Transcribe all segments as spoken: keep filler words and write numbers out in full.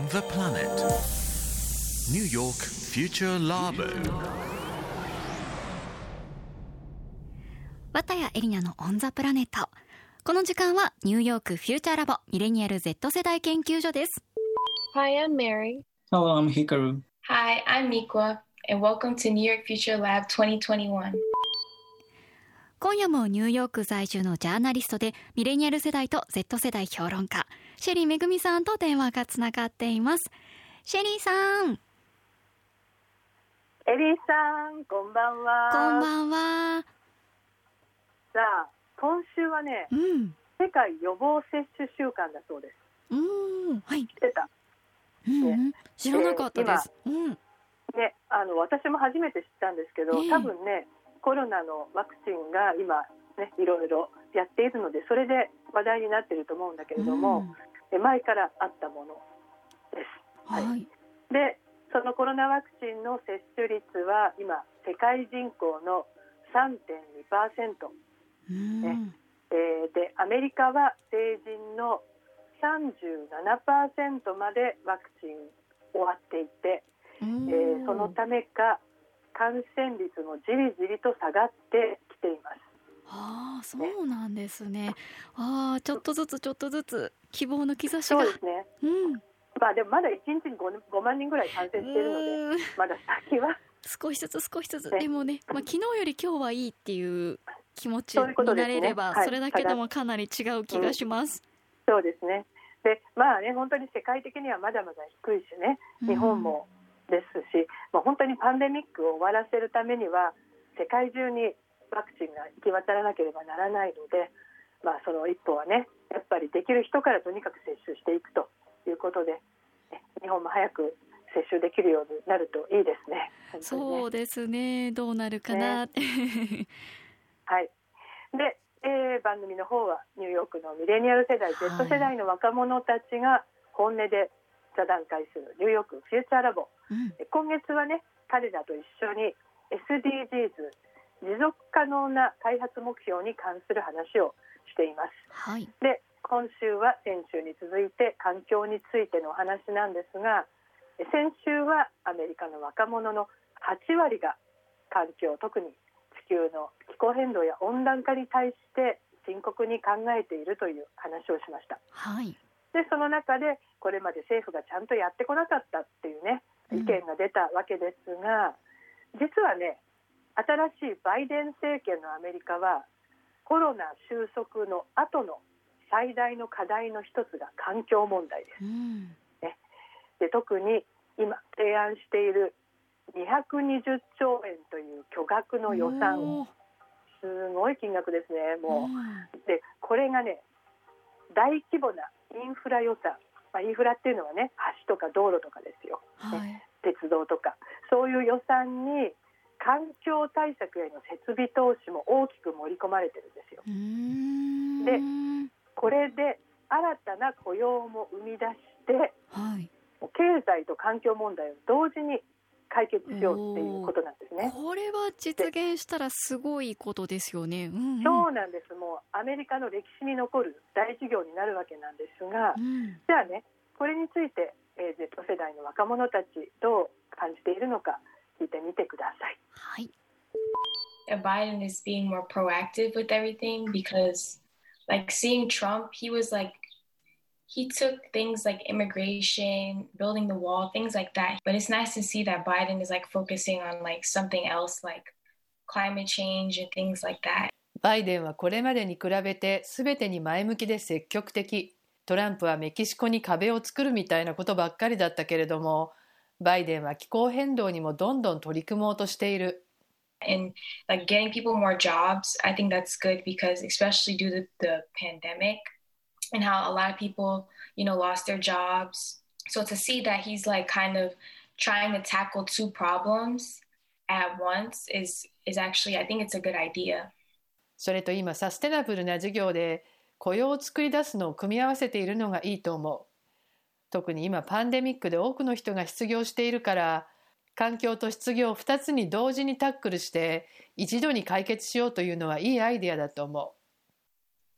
the planet. New York Future Labo. 綿谷エリナのオンザプラネット。この時間はニューヨークフューチャーラボミレニアル Z 世代研究所です。 Hi, I'm Mary. Hello, I'm Hikaru. Hi, I'm Mikwa, and welcome to New York Future Lab twenty twenty-one. 今夜もニューヨーク在住のジャーナリストでミレニアル世代と Z 世代評論家シェリーめぐみさんと電話がつながっています。シェリーさん。 エリーさん、こんばんは。 こんばんは。 さあ、今週はね、うん、世界予防接種週間だそうです。 うーん、はい。 知ってた？ うんうんね、知らなかったです。 えーうん、ね、あの私も初めて知ったんですけど、えー、多分ね、コロナのワクチンが今ね、いろいろやっているので、それで話題になっていると思うんだけれども、うん、前からあったものです。 はい。はい、 で、そのコロナワクチンの接種率は今世界人口の さんてんにパーセント。ねえー、でアメリカは成人の さんじゅうななパーセント までワクチン終わっていて、えー、そのためか感染率もじりじりと下がってきています。 ああ、そうなんですね。ねああ、ちょっとずつちょっとずつ希望の兆しが。 そうですね、うんまあ、でもまだいちにちに 5, ごまんにんぐらい感染しているので、まだ先は少しずつ少しずつ、ね、でもね、まあ、昨日より今日はいいっていう気持ちになれれば そ, ういうことですね、はい、それだけでもかなり違う気がします、 うん、そうですね。で、まあね、本当に世界的にはまだまだ低いしね、日本もですし、うんまあ、本当にパンデミックを終わらせるためには世界中にワクチンが行き渡らなければならないので、まあ、その一歩はね、やっぱりできる人からとにかく接種していくということで、日本も早く接種できるようになるといいですね。ねそうですね、どうなるかな、ねはい。で、えー、番組の方はニューヨークのミレニアル世代、はい、Z 世代の若者たちが本音で座談会するニューヨークフューチャーラボ、うん、今月はね、彼らと一緒に エスディージーズ 持続可能な開発目標に関する話をしています、 はい、 で今週は先週に続いて環境についてのお話なんですが、先週はアメリカの若者のはちわりが環境、特に地球の気候変動や温暖化に対して深刻に考えているという話をしました、 はい、 でその中でこれまで政府がちゃんとやってこなかったっていうね、意見が出たわけですが、うん、実はね、新しいバイデン政権のアメリカはコロナ収束の後の最大の課題の一つが環境問題です、 うんね、で特に今提案しているにひゃくにじゅっちょうえんという巨額の予算、すごい金額ですね。もうでこれがね、大規模なインフラ予算、まあ、インフラっていうのはね、橋とか道路とかですよ、 はいね、鉄道とかそういう予算に環境対策への設備投資も大きく盛り込まれてるんですよ。 うーんでこれで新たな雇用も生み出して、 はい、 経済と環境問題を同時に解決しようっていうことなんですね。 これは実現したらすごいことですよね、うんうん、 そうなんです。もうアメリカの歴史に残る大事業になるわけなんですが、 うん、 じゃあね、これについて、えー、Z 世代の若者たちどう感じているのか聞いてみてください。 はい。 Biden is being more proactive with everything because like seeing Trump, he was like he took things like immigration, building the wall, things like that. But it's nice to see that Biden is like focusing on like something else like climate change and things like that. バイデンはこれまでに比べて全てに前向きで積極的。トランプはメキシコに壁を作るみたいなことばっかりだったけれども、バイデンは気候変動にもどんどん取り組もうとしている。 And like getting people more jobs, I think that's good because especially due to the pandemic and how a lot of people, you know, lost their jobs. So to see that he's like kind of trying to tackle two problems at once is, is actually, I think it's a good idea. それと今サステナブルな事業で雇用を作り出すのを組み合わせているのがいいと思う。特に今パンデミックで多くの人が失業しているから、環境と失業ふたつに同時にタックルして一度に解決しようというのはいいアイデアだと思う。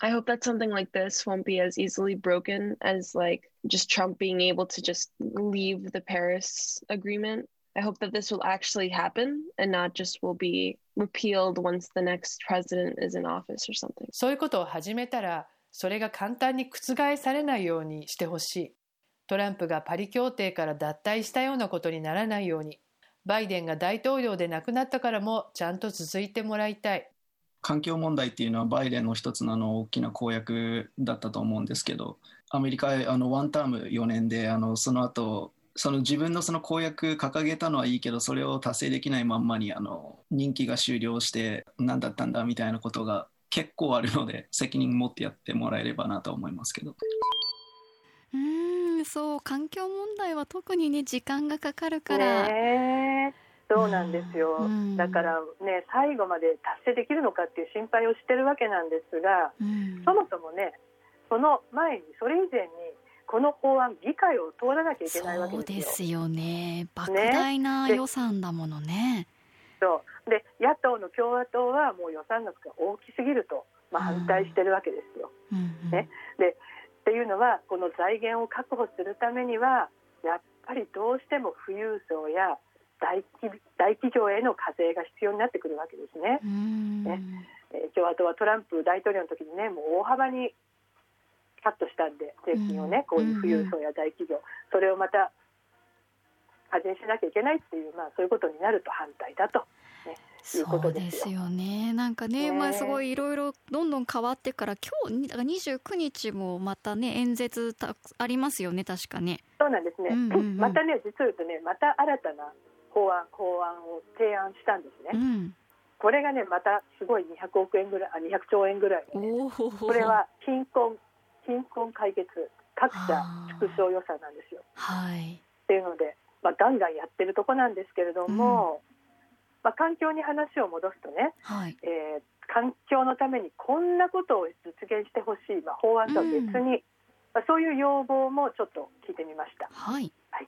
I hope that something like this won't be as easily broken as like just Trump being able to just leave the Paris Agreement. I hope that this will actually happen and not just will be repealed once the next president is in office or something. そういうことを始めたら、それが簡単に覆されないようにしてほしい。トランプがパリ協定から脱退したようなことにならないように、バイデンが大統領で亡くなったからもちゃんと続いてもらいたい。 環境問題っていうのはバイデンの一つのあの大きな公約だったと思うんですけど、アメリカあのワンタームよねんであのその後その自分のその公約掲げたのはいいけど、それを達成できないまんまにあの任期が終了して何だったんだみたいなことが結構あるので、責任持ってやってもらえればなと思いますけど。 うーん、そう、環境問題は特にね時間がかかるから、 ね、そうなんですよ、 うん、 だからね最後まで達成できるのかっていう心配をしてるわけなんですが、 うん、 そもそもねその前にそれ以前にこの法案議会を通らなきゃいけないわけですよ。 そうですよね。莫大な予算だものね。 そうで野党の共和党はもう予算額が大きすぎると、まあ、反対してるわけですよ、 うんうんうんね、でっていうのはこの財源を確保するためにはやっぱりどうしても富裕層や大企、大企業への課税が必要になってくるわけですね。 うんねえー共和党はトランプ大統領の時にねもう大幅にカットしたんで税金をね、こういう富裕層や大企業、それをまた課税しなきゃいけないっていう、まあ、そういうことになると反対だと、ね、いうことですよ。 そうですよね。なんか ね, ねまあ、すごいいろいろどんどん変わってから今日だからにじゅうくにちもまたね演説たありますよね確かね。 そうなんですね、 うんうんうん、 またね実を言うとねまた新たな法案法案を提案したんですね、 うん、 これがねまたすごいにひゃくおくえんぐらいあにひゃくちょうえんぐらい、ね、これは貧困貧困解決格差縮小予算なんですよ、 はい、 っていうので、まあ、ガンガンやってるとこなんですけれども、うんまあ、環境に話を戻すとね、 はいえー、環境のためにこんなことを実現してほしい、まあ、法案とは別に、うんまあ、そういう要望もちょっと聞いてみました。 はい、 はい、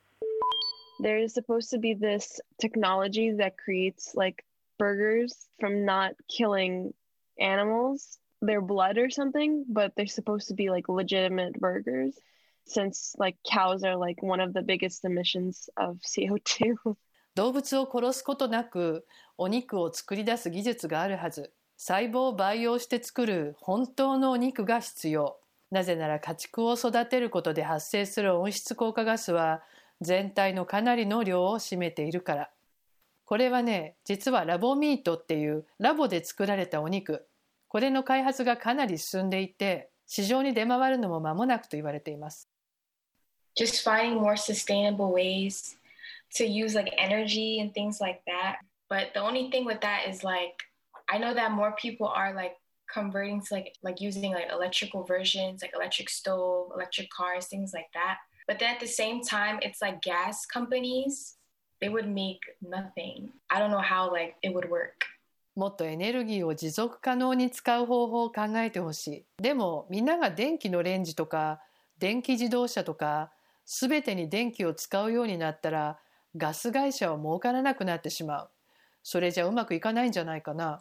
There is supposed to be this technology that creates like burgers from not killing animals, their blood or something, but they're supposed to be like legitimate burgers since like cows are like one of the biggest emissions of シーオーツー動物を殺すことなくお肉を作り出す技術があるはず。細胞を培養して作る本当のお肉が必要。なぜなら家畜を育てることで発生する温室効果ガスは全体のかなりの量を占めているから。これはね、実はラボミートっていうラボで作られたお肉。これの開発がかなり進んでいて、市場に出回るのも間もなくと言われています。 Just finding more sustainable ways to use like energy and things like that. But the only thing with that is like, I know that more people are like converting to like like using like electrical versions, like electric stove, electric cars, things like that. But then at the same time, it's like gas companies, they would make nothing. I don't know how like it would work. もっとエネルギーを持続可能に使う方法を考えてほしい。でもみんなが電気のレンジとか電気自動車とかすべてに電気を使うようになったらガス会社は儲からなくなってしまう。それじゃうまくいかないんじゃないかな。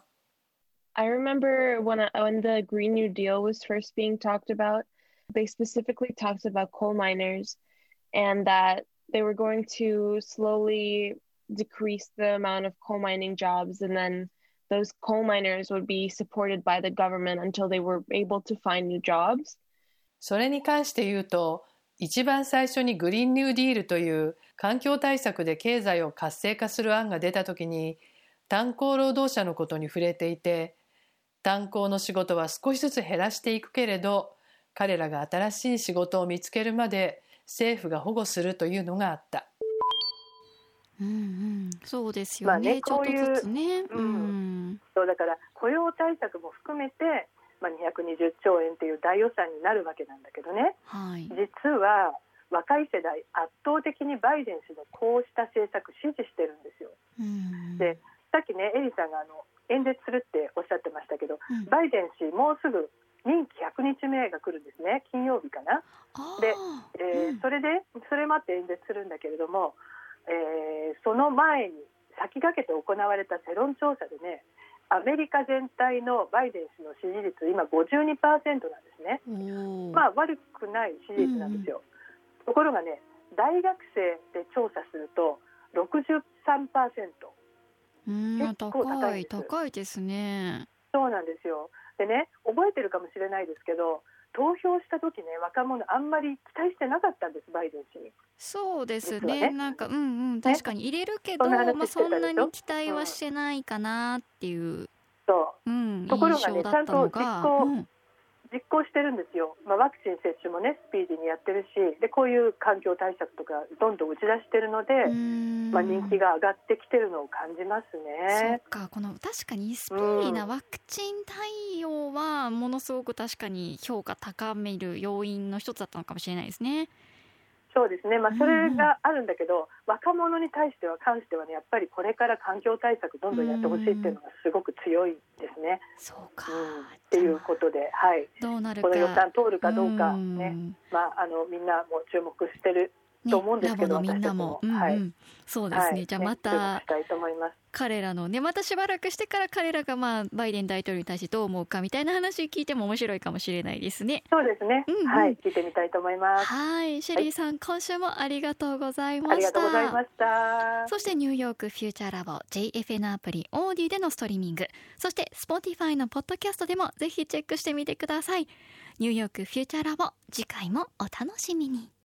I remember when, I, when the Green New Deal was first being talked about, they specifically talked about coal miners and that they were going to slowly decrease the amount of coal mining jobs, and then those coal miners would be supported by the government until they were able to find new jobs. それに関して言うと、一番最初にグリーンニューディールという環境対策で経済を活性化する案が出たときに、炭鉱労働者のことに触れていて、炭鉱の仕事は少しずつ減らしていくけれど、彼らが新しい仕事を見つけるまで政府が保護するというのがあった。 うんうん、そうですよね。まあね、ちょっとずつね。 うん、そうだから雇用対策も含めて、まあ、にひゃくにじゅっちょうえんという大予算になるわけなんだけどね、 はい、 実は若い世代圧倒的にバイデン氏のこうした政策支持してるんですよ。 うん、 でさっきねエリさんがあの演説するっておっしゃってましたけど、 うん、 バイデン氏もうすぐ任期ひゃくにちめが来るんですね。金曜日かな。で、えーうん、それでそれもあって演説するんだけれども、えー、その前に先駆けて行われた世論調査でね、 アメリカ全体のバイデン氏の支持率今 ごじゅうにパーセント なんですね。まあ悪くない支持率なんですよ、うんうん、ところがね大学生で調査すると ろくじゅうさんパーセント、 結構高いです。 高いですね。 そうなんですよ。でね、覚えてるかもしれないですけど投票した時ね若者あんまり期待してなかったんですバイデン氏に。 そうです ね, ねなんかうんうん確かに入れるけど、ねまあ、そんなに期待はしてないかなっていう、 うん、そう、うん、ところがねちゃんと実行、うん、実行してるんですよ、まあ、ワクチン接種もねスピーディーにやってるしでこういう環境対策とかどんどん打ち出してるので、まあ、人気が上がってきてるのを感じますね。 そうかこの確かにスピーディーなワクチン対応はものすごく確かに評価高める要因の一つだったのかもしれないですね。 そうですね、まあ、それがあるんだけど、うんうん、若者に対しては関してはねやっぱりこれから環境対策どんどんやってほしいっていうのがすごく強いですね。 そうか、 うん、っていうことで、はい、 どうなるかこの予算通るかどうかね、まあ、あのみんなも注目してると思うんですけど、 ね、ラボのみんなも、 私たちも、はい、 うんうん、そうですね、はい、じゃあまた、 ね、したいと思います。 彼らのねまたしばらくしてから彼らがまあバイデン大統領に対してどう思うかみたいな話聞いても面白いかもしれないですね。 そうですね、うんうん、はい聞いてみたいと思います。 はいシェリーさん、はい、今週もありがとうございました。 ありがとうございました。 そしてニューヨークフューチャーラボ ジェイエフエヌ アプリオーディでのストリーミング、そして Spotify のポッドキャストでもぜひチェックしてみてください。ニューヨークフューチャーラボ次回もお楽しみに。